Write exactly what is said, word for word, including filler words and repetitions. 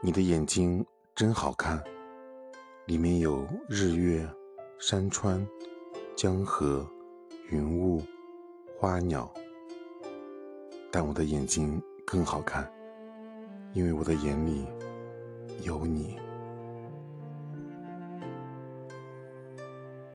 你的眼睛真好看，里面有日月、山川、江河、云雾、花鸟。但我的眼睛更好看，因为我的眼里有你。